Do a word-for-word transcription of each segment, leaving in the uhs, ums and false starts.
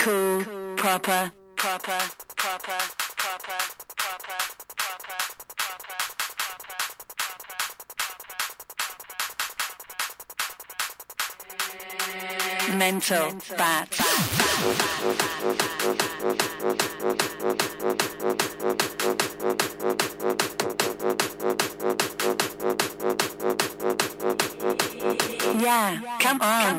cool, proper, proper, proper, proper, proper, proper, proper, mental, bat. Yeah, come on.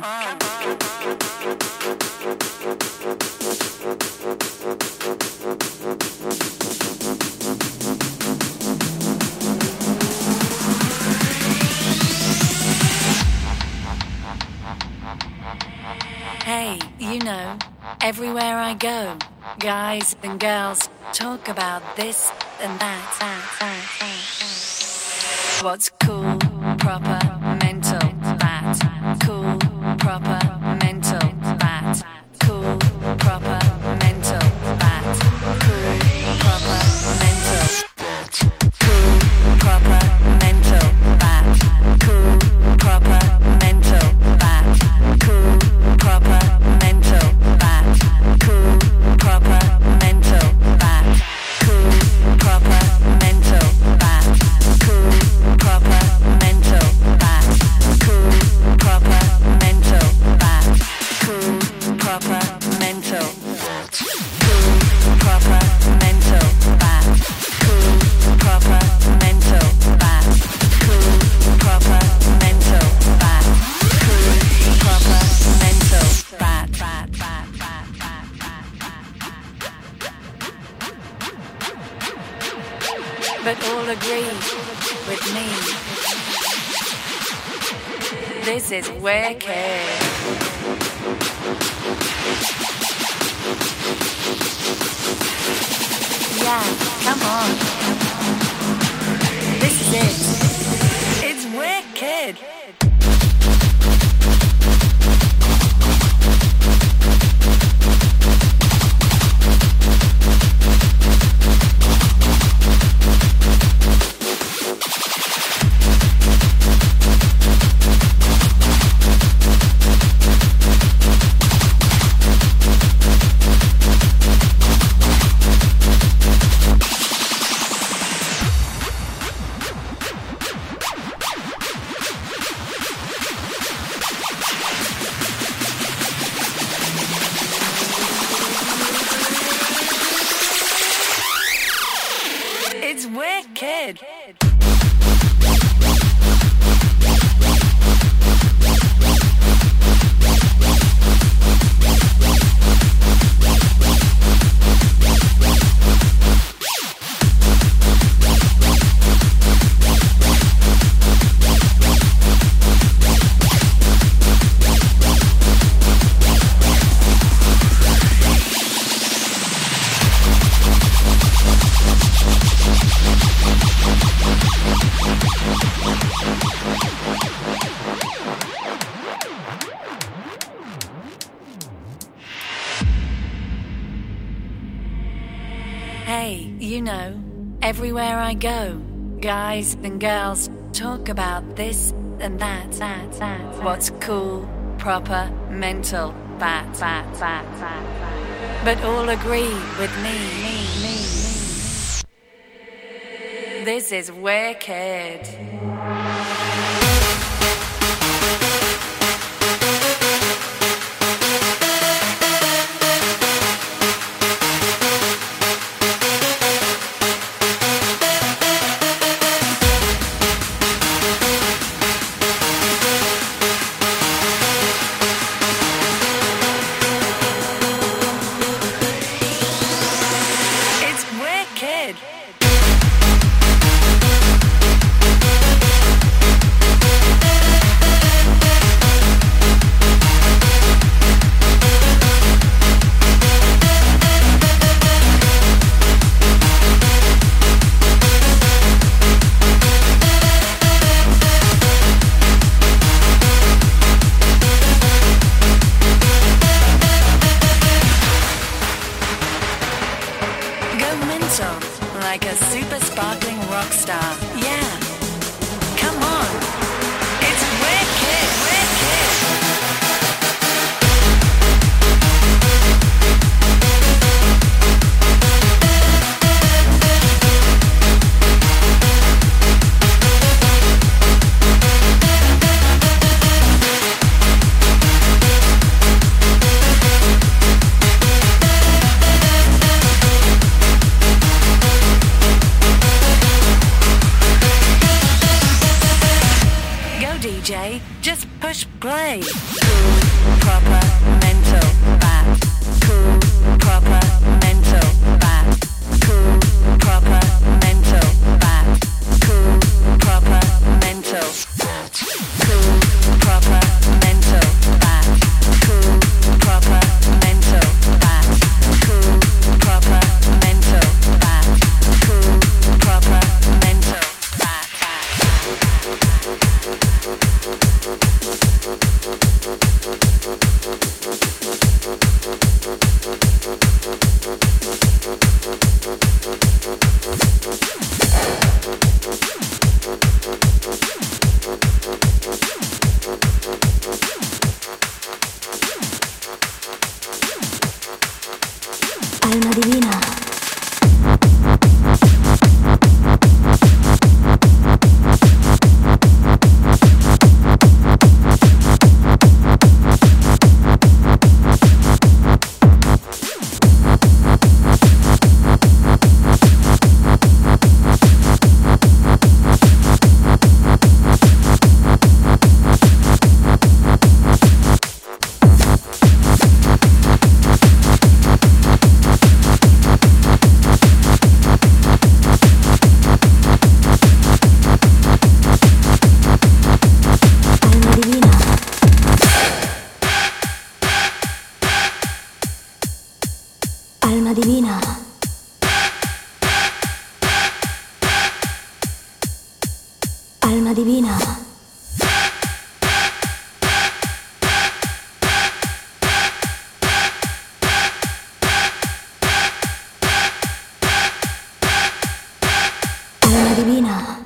Hey, you know, everywhere I go, guys and girls talk about this and that. that, that, that. What's cool, proper, mental, that. Cool, proper, mental, that. Cool, proper, mental, that. Cool, proper, mental, that. Cool, proper, mental, that. Cool, proper, mental, that. Cool, proper, mental, that. Cool, proper, mental, that. Cool, proper, mental, that. Cool, proper, mental, that. Cool, proper, mental, that. Cool, proper, mental, that. Cool, proper, mental, that. Cool, proper, mental, that. Cool, proper, mental, that. Cool, proper, mental, that. that, that, that, that, that. But all agree with me. This is wicked. Yeah, come on. This is it. It's wicked. It's wicked. Hey, you know, everywhere I go, guys and girls talk about this and that, that, that. What's cool, proper, mental, that, that, that, that, that. But all agree with me, me, me, me. This is wicked. Like a super sparkling rock star. Yeah. Come on. It's wicked, wicked. play. Cool, proper, mental, bat. Cool, proper, mental, bat. Cool, proper, mental, bat. Cool, proper, mental, bat. Cool, proper, mental, bat. Cool, proper, mental, bat. Cool, proper, mental, bat. Cool, proper, mental, bat. Alma divina. Alma divina. Alma divina. Alma divina.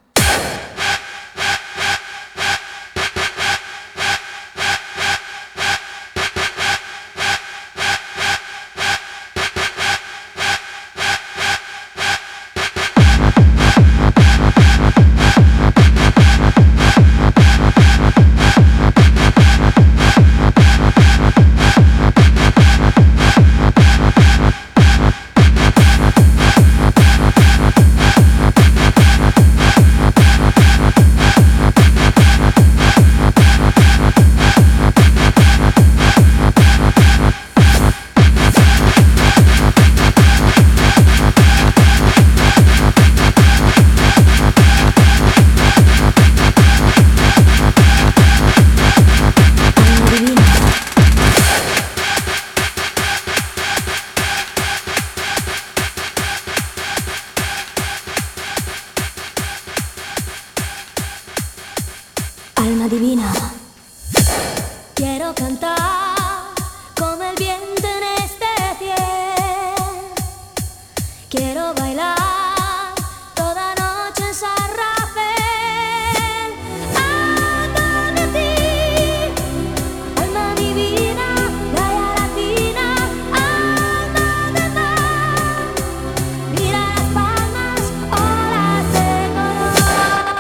Alma divina. Quiero cantar como el viento en este cielo. Quiero bailar toda noche en San Rafael. Alma de ti, alma divina, playa latina, alma de mar. Mira las palmas, olas de color.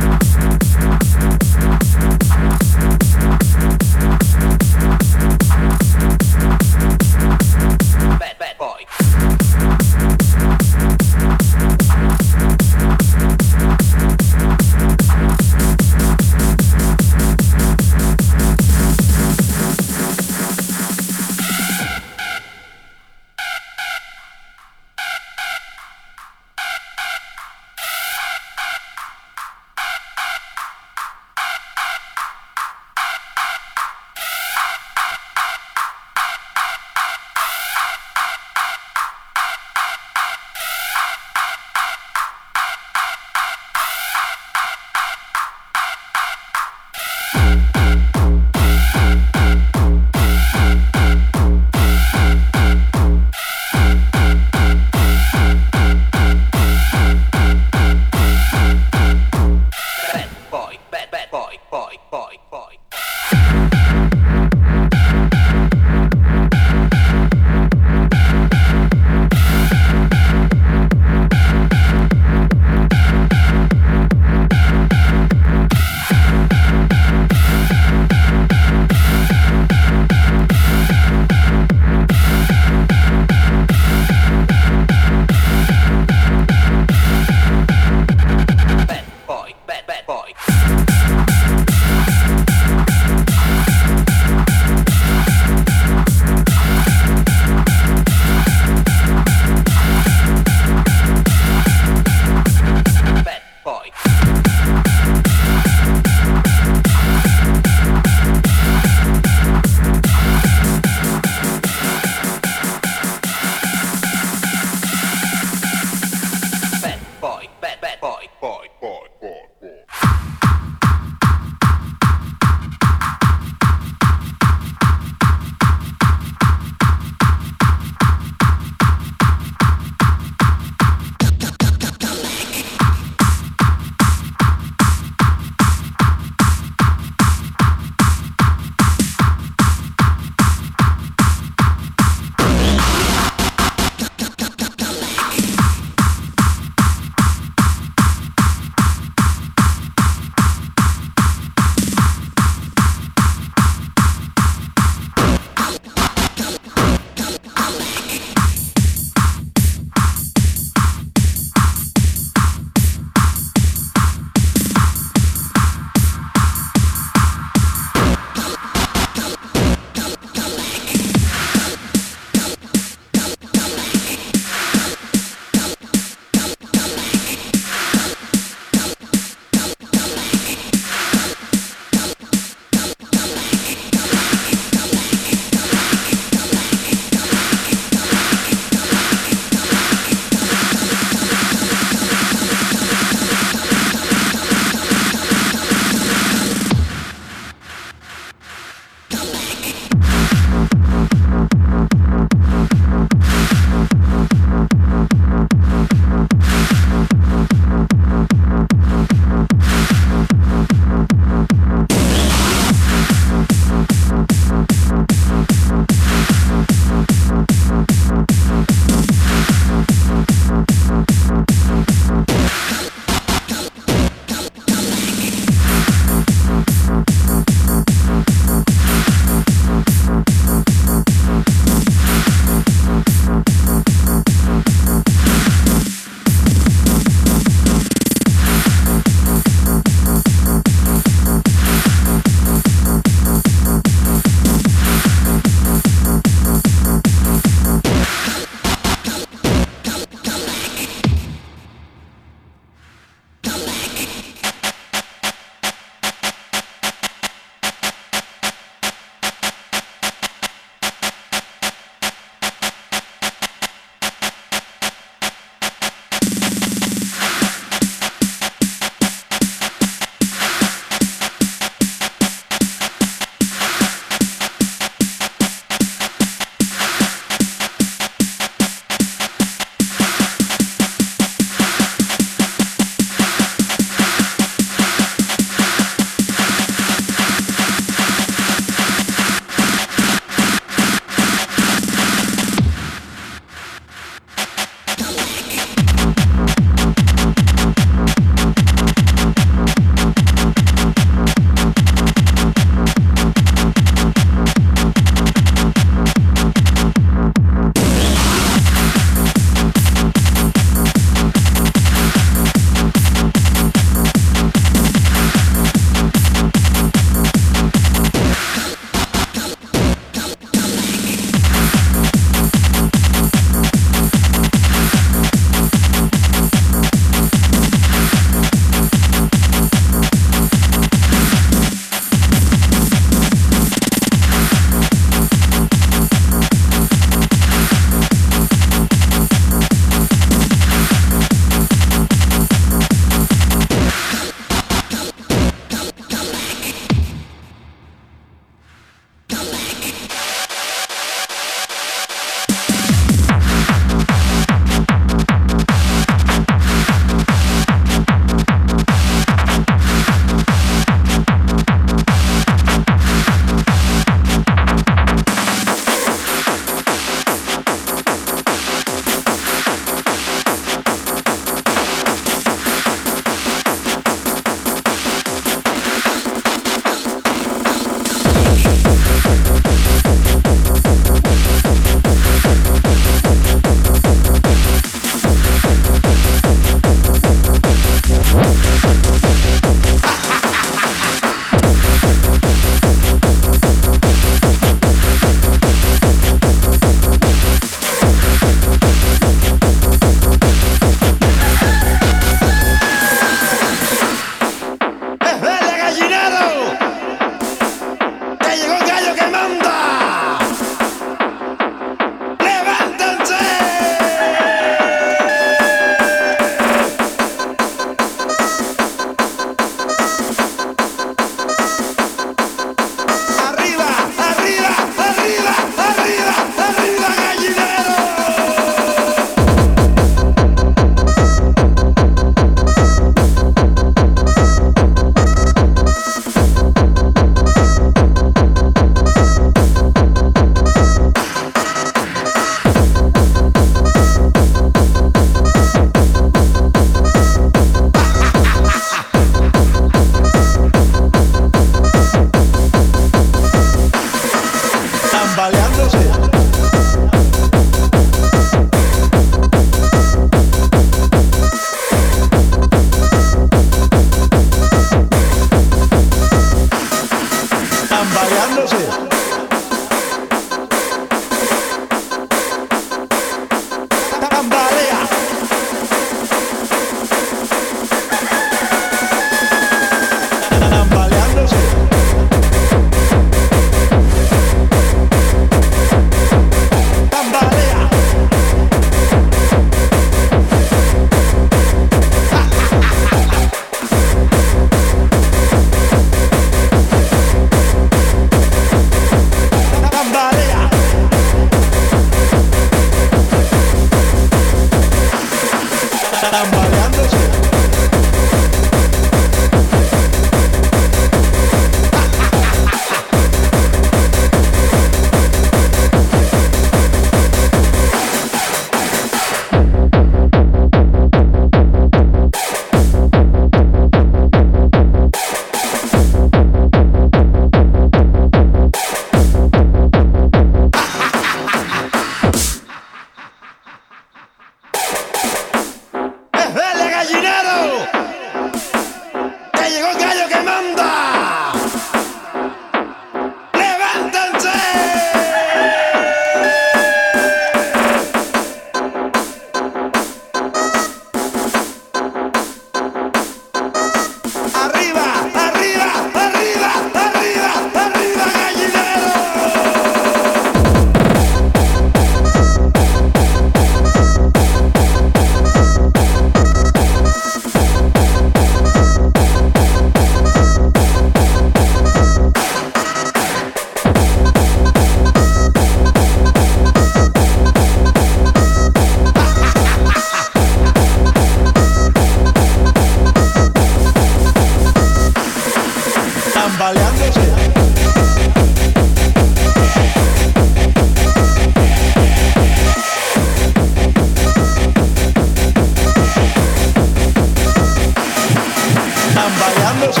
tambaleándose.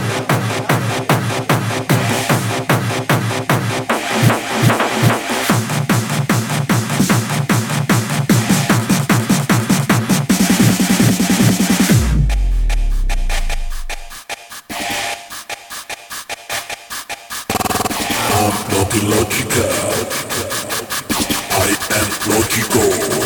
Logical. I am logical.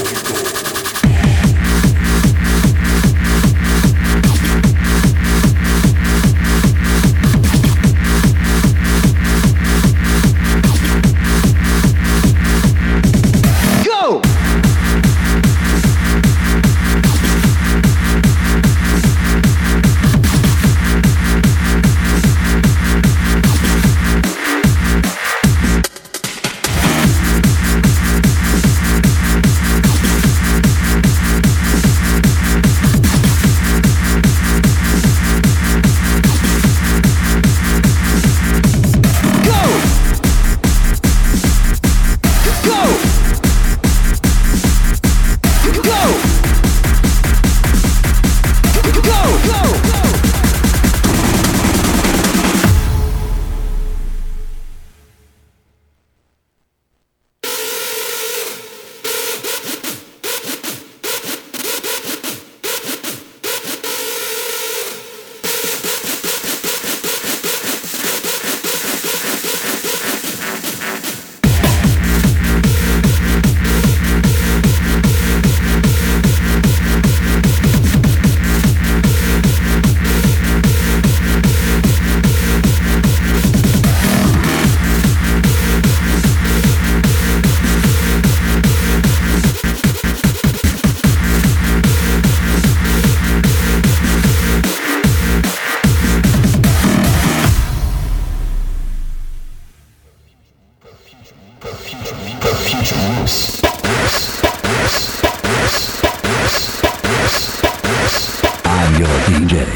I'm your D J.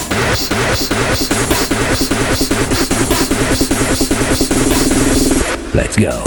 Let's go.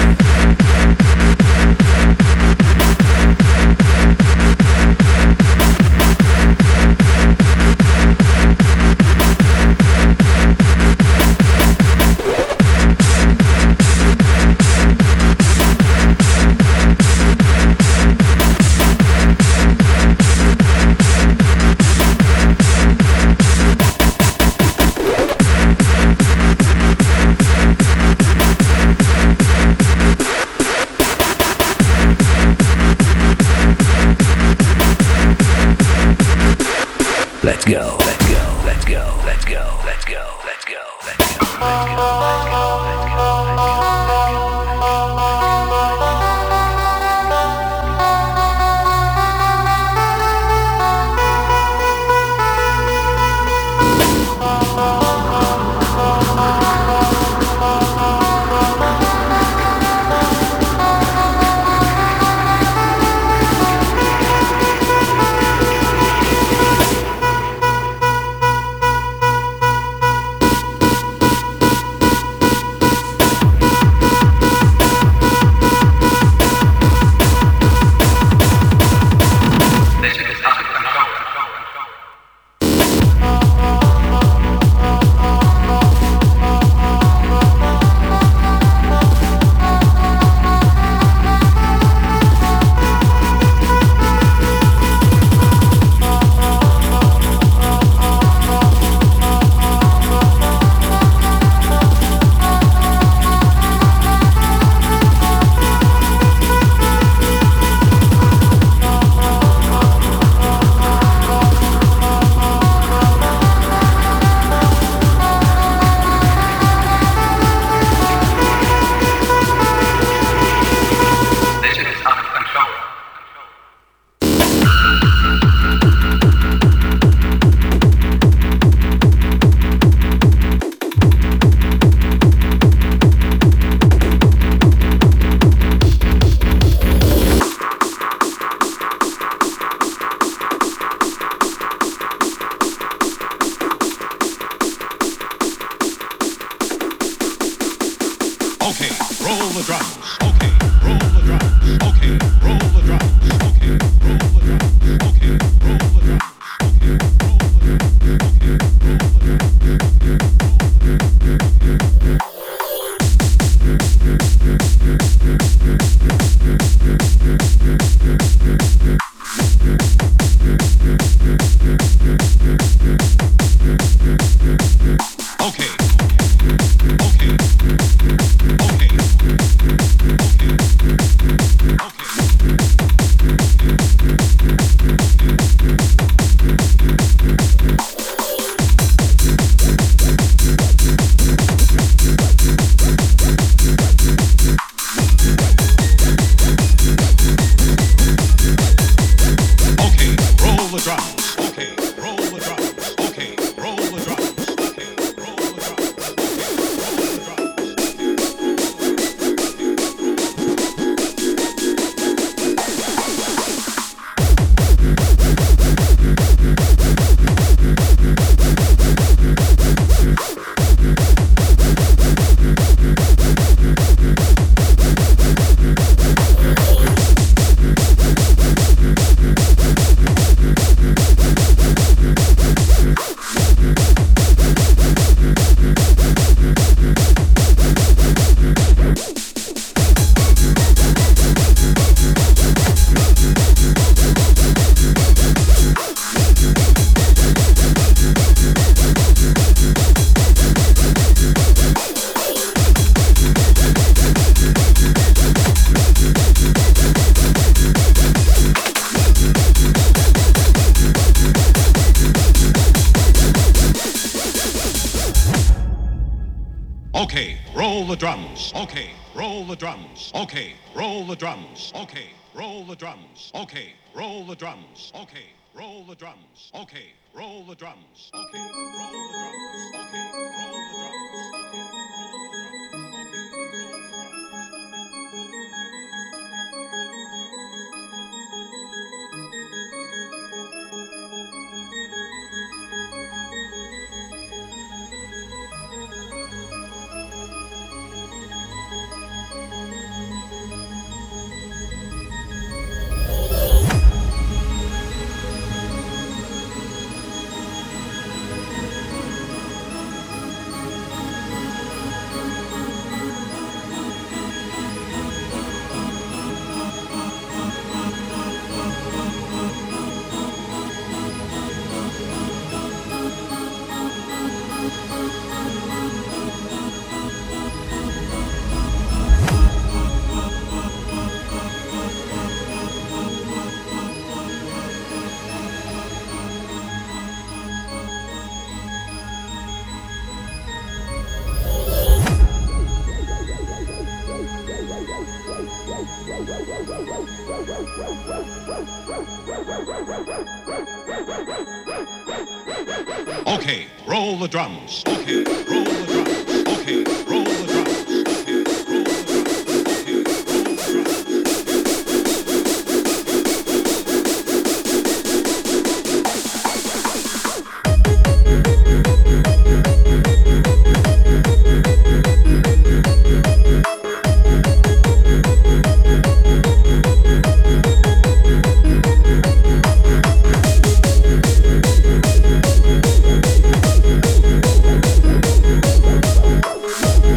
Let's go, let's go, let's go, let's go, let's go, let's go, let's go, let's go, let's go, let's go. Okay, roll the drums. Okay, roll the drums. Okay, roll the drums. Okay, roll the drums. Okay, roll the drums. Okay, roll the drums. Okay. Okay, roll the drums. Okay, roll the drums. Okay, roll the drums. Okay, roll the drums. Okay, roll the drums. Okay, roll the drums. Okay, roll the drums. Okay, roll the drums. Okay, roll the drums. Okay, roll the drums. Okay, roll the drums. Okay, roll the drums. Okay, roll the drums. Okay, roll We'll be right back.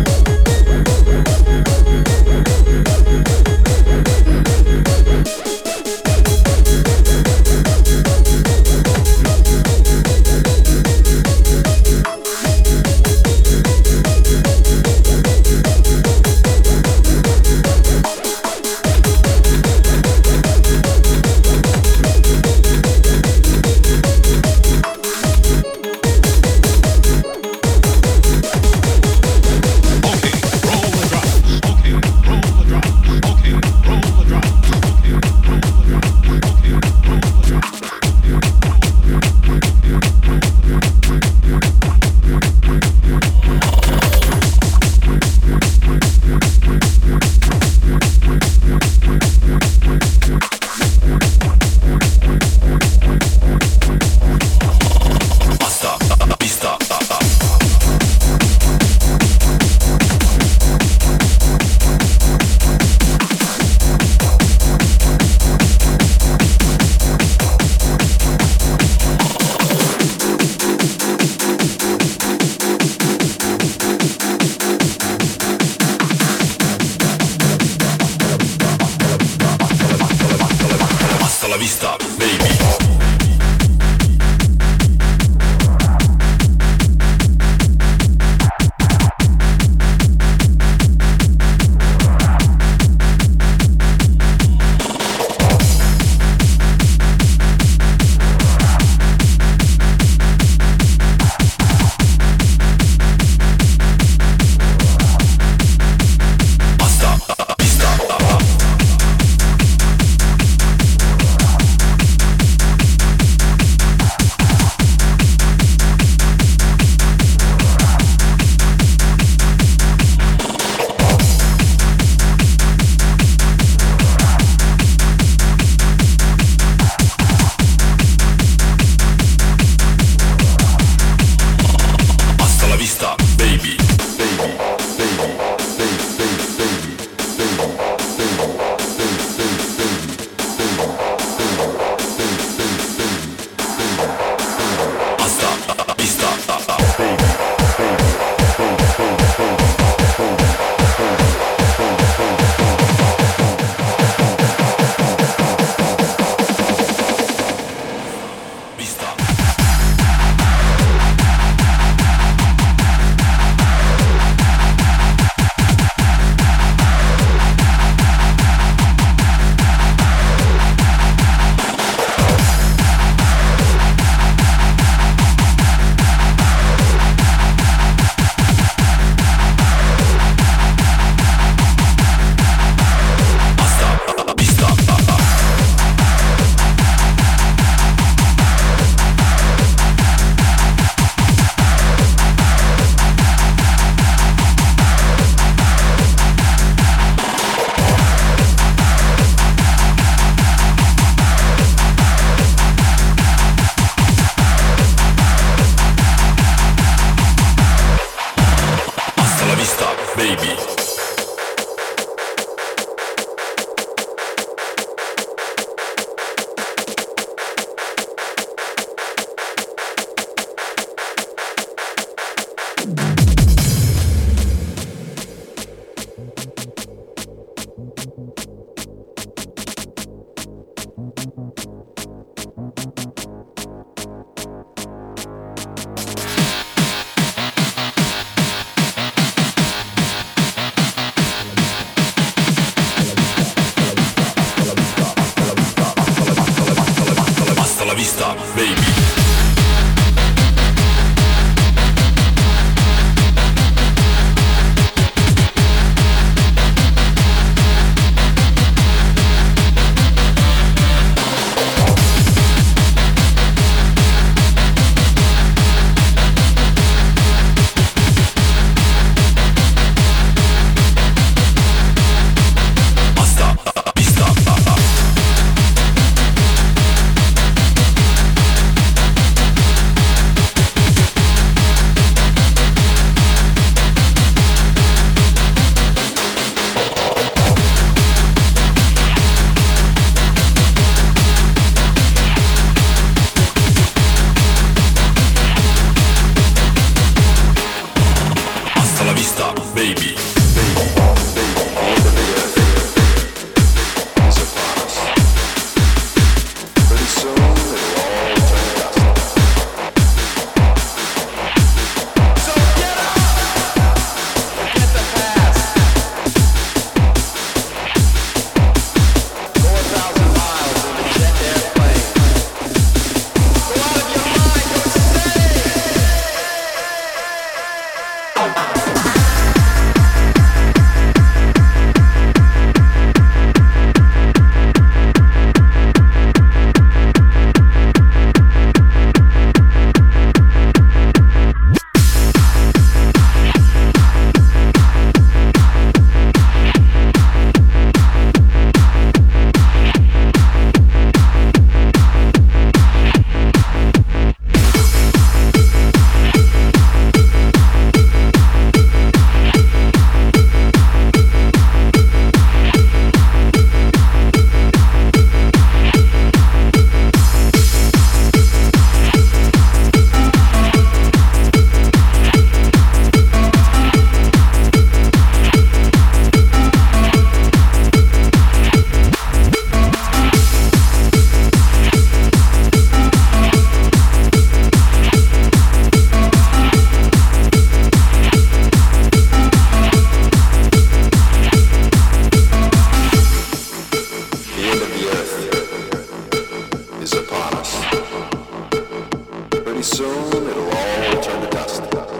them, it'll all turn to dust.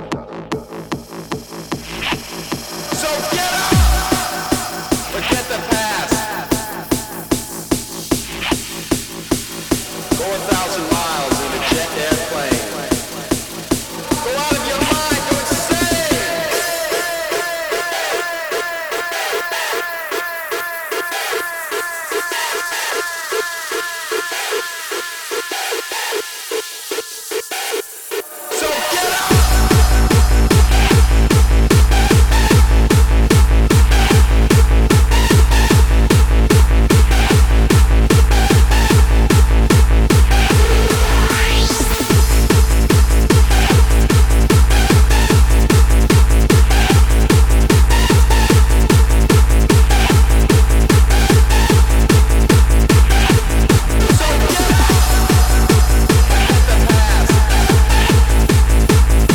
So get up! Forget the past. Go a thousand miles in a jet airplane. Go out of your mind, go insane! So get up! So get up! Forget the past.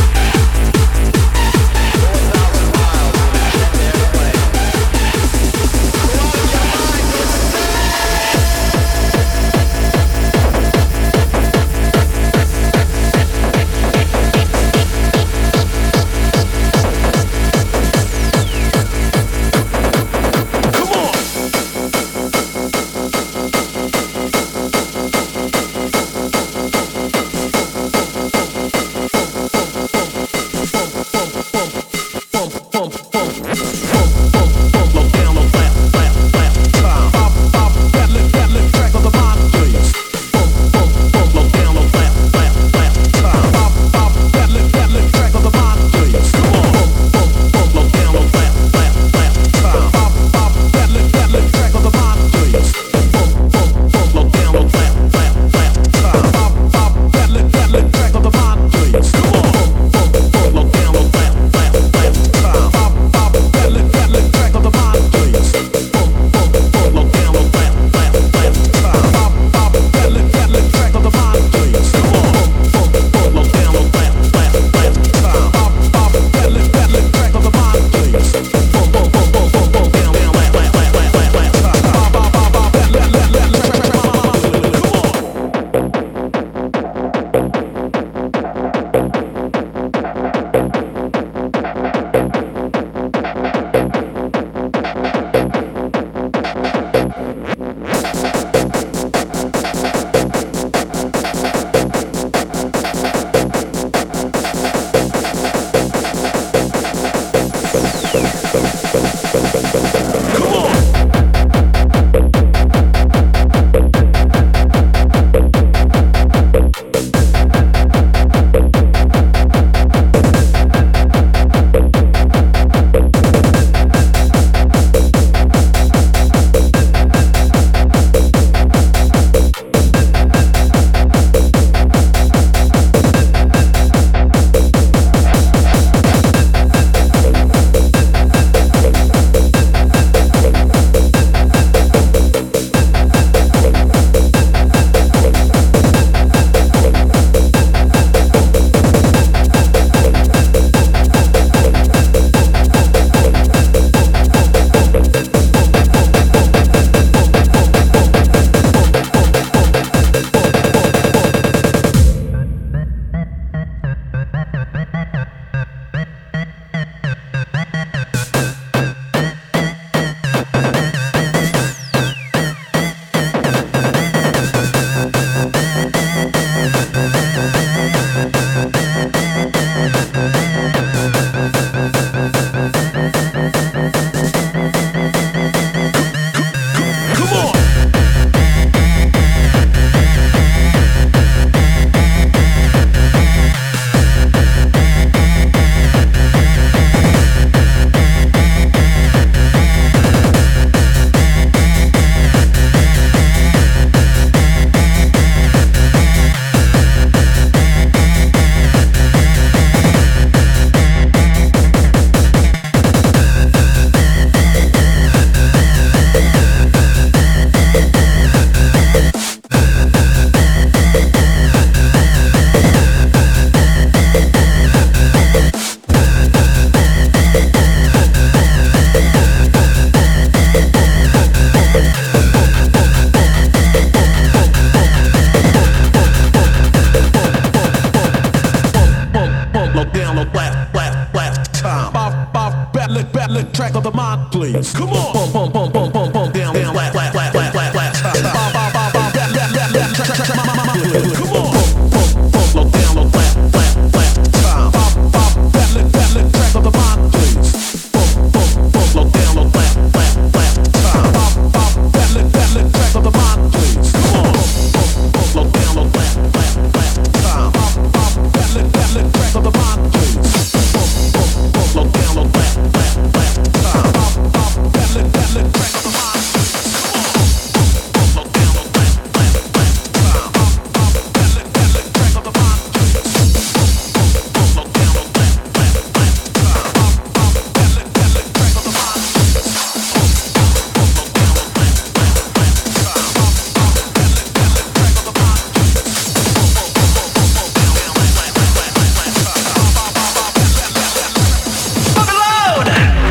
please. Come on. Pump, pump, pump, pump, pump, pump, down, down, flat, flat, flat, flat, flat, flat. Come on. Pump, pump, pump, low down, low, flat, flat, flat. Time. Pop, pop, that lick, that lick, track of the mind, please. Pump, pump, pump, low down, low, flat, flat, flat. Time. Pop, pop, that lick, that lick, track of the mind, please. Come on. Pump, pump, low down, low, flat, flat, flat. Time. Pop, pop, that lick, that lick, track of the mind, please. Pump, pump, pump, low down, low, flat, flat, flat. Time. Pop, pop, that lick, that lick, track of the mind, please. Come on. Low down, low, flat, flat, flat. Time. Pop, pop, that lick, that lick, track of the mind, please. Pump, pump, low down, low, flat, flat, flat. Time. Pop, pop, that lick, that lick, track of the mind, please. Pump, pump, low down, low, flat, flat, flat. Time. Pop, pop, that lick, that lick, track of the mind, please. Pump, pump, pump, pump, pump, pump, down, down, flat, flat, flat, flat, flat. Time. Pop, pop, pop, pop, that, that, that, that, that. Pump it loud!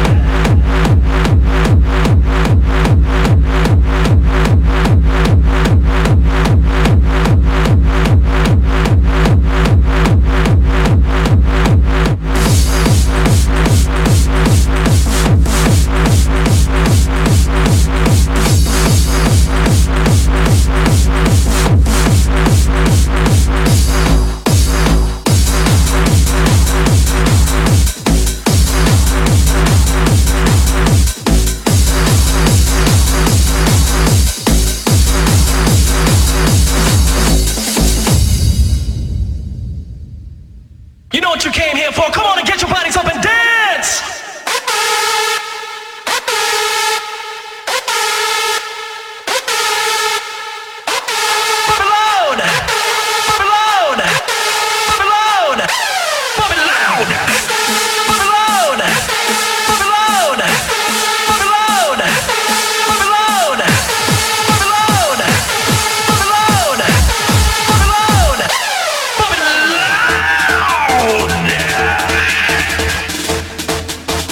You know what you came here for? Come on and get your bodies up and dance! Pump it loud! Pump it loud! Pump it loud! Pump it loud! Pump it loud! Pump it loud! Pump it loud! Pump it loud! Pump it loud! Pump it loud! Pump it loud! Pump it loud!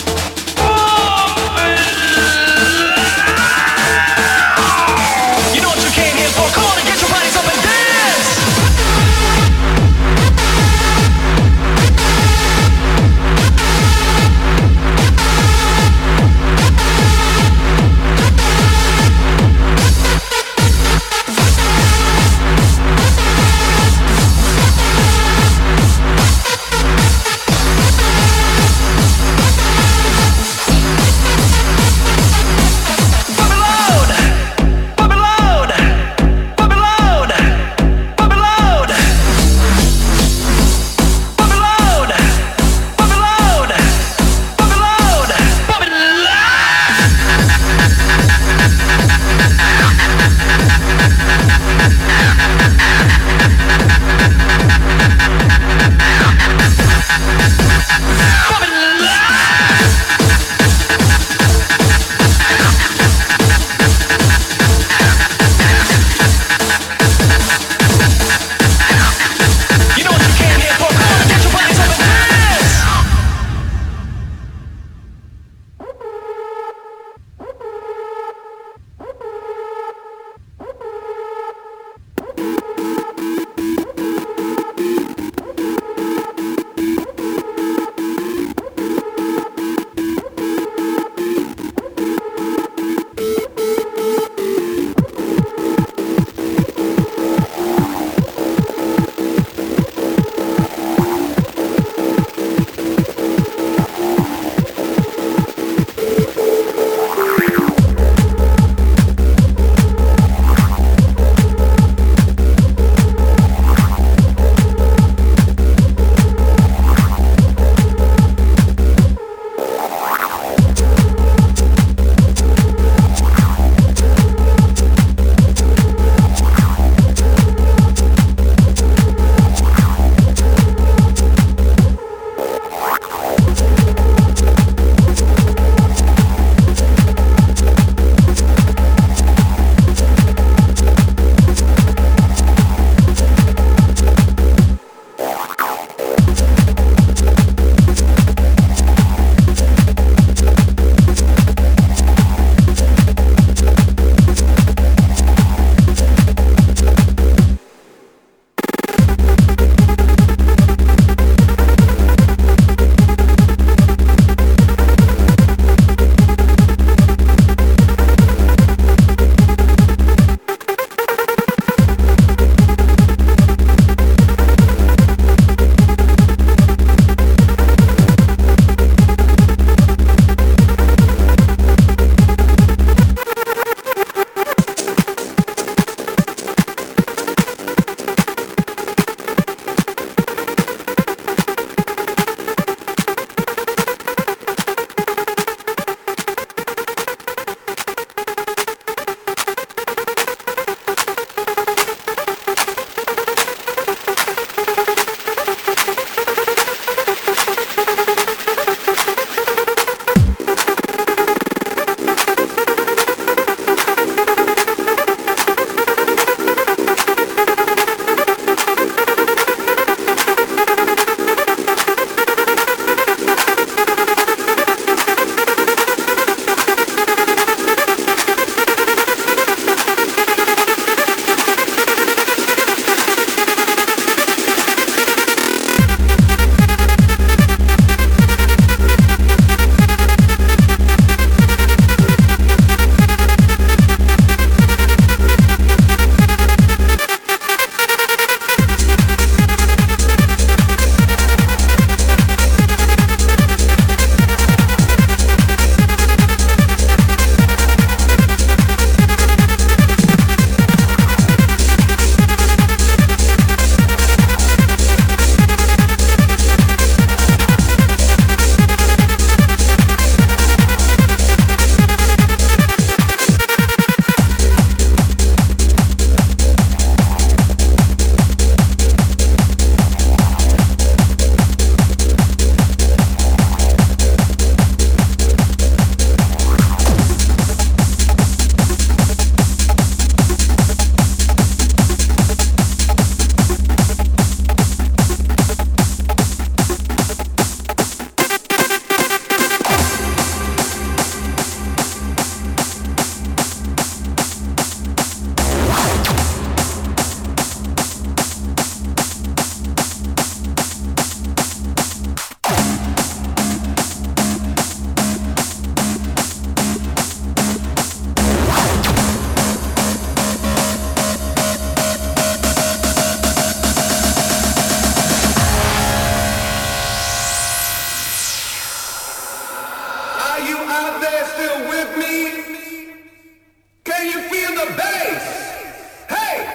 there still with me? Can you feel the bass? Hey!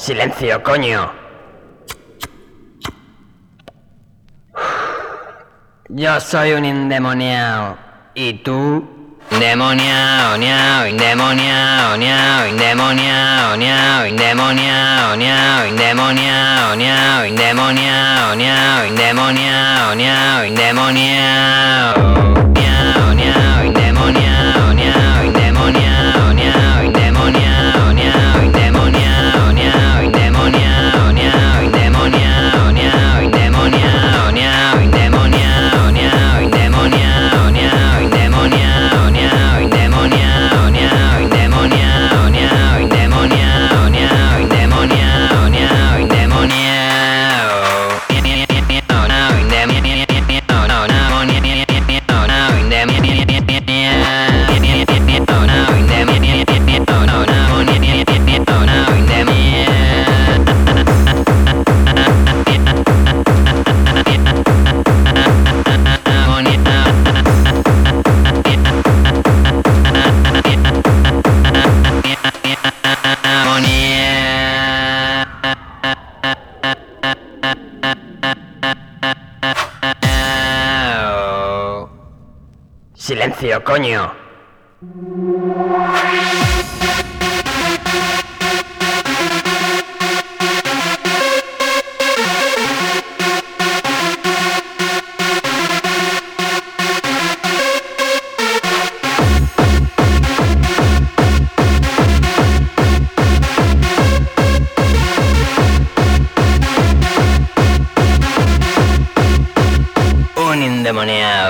Silencio, coño. Yo soy un endemoniado. ¿Y tú? Endemoniado, niao, endemoniado, niao, endemoniado, niao, endemoniado, niao, endemoniado, niao, endemoniado, niao, endemoniado, niao, endemoniado. Niao, niao, endemoniado, niao, endemoniado, niao, endemoniado, niao, endemoniado, niao, endemoniado, niao, endemoniado, niao, endemoniado, niao, endemoniado, niao, endemoniado, niao, endemoniado, niao, endemoniado, niao, endemoniado, niao, endemoniado, niao, endemoniado, niao, endemoniado. Silencio, coño. Un endemoniado.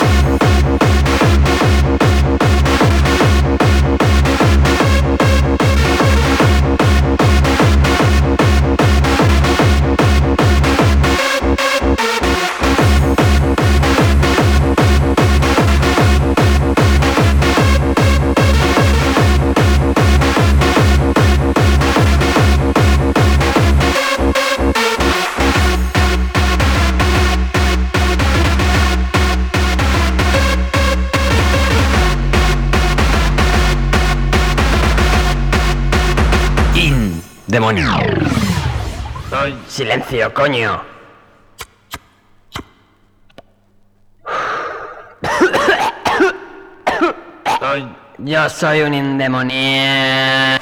Demonio. Soy... Silencio, coño. Soy... Yo soy un endemoniado.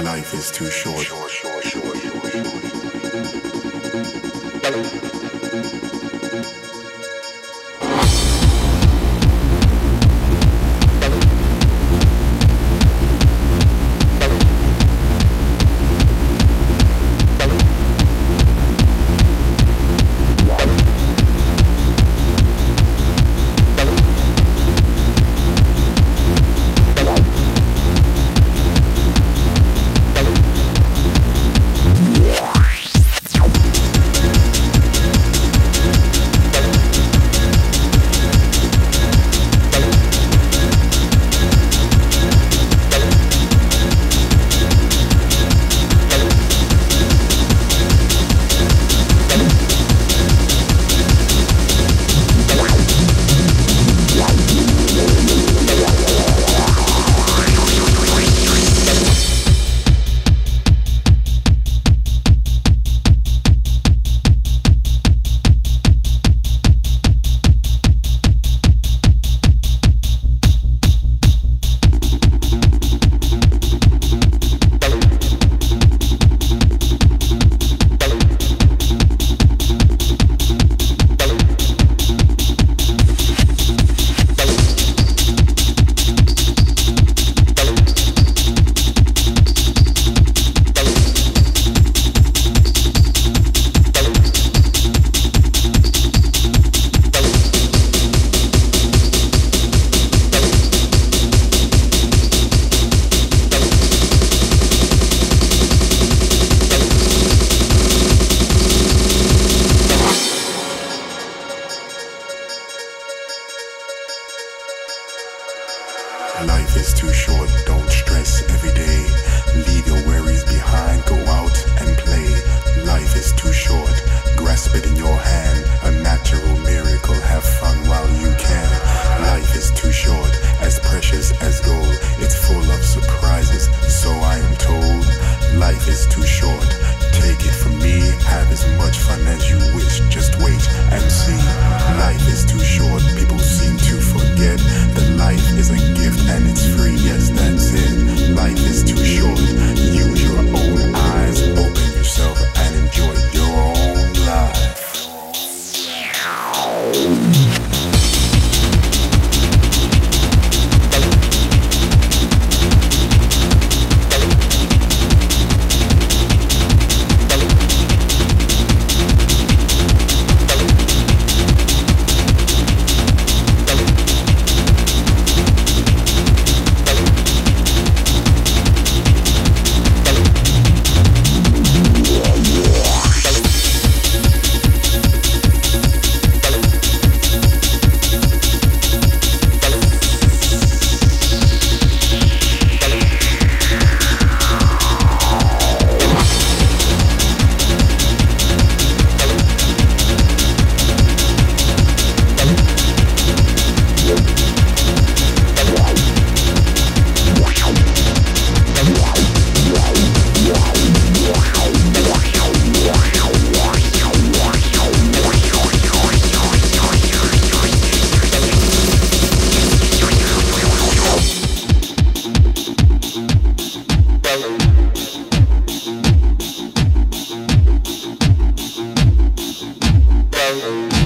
Life is too short. Life is too short, don't stress every day. Leave your worries behind, go out and play. Life is too short, grasp it in your hand. A natural miracle, have fun while you can. Life is too short, as precious as gold. It's full of surprises, so I am told. Life is too short, take it from me. Have as much fun as you wish, just wait and see. Life is too short, people seem to forget that life is a gift and it's free, yes, that's it. Life is too short, use your own eyes, open yourself and enjoy your own life. Well,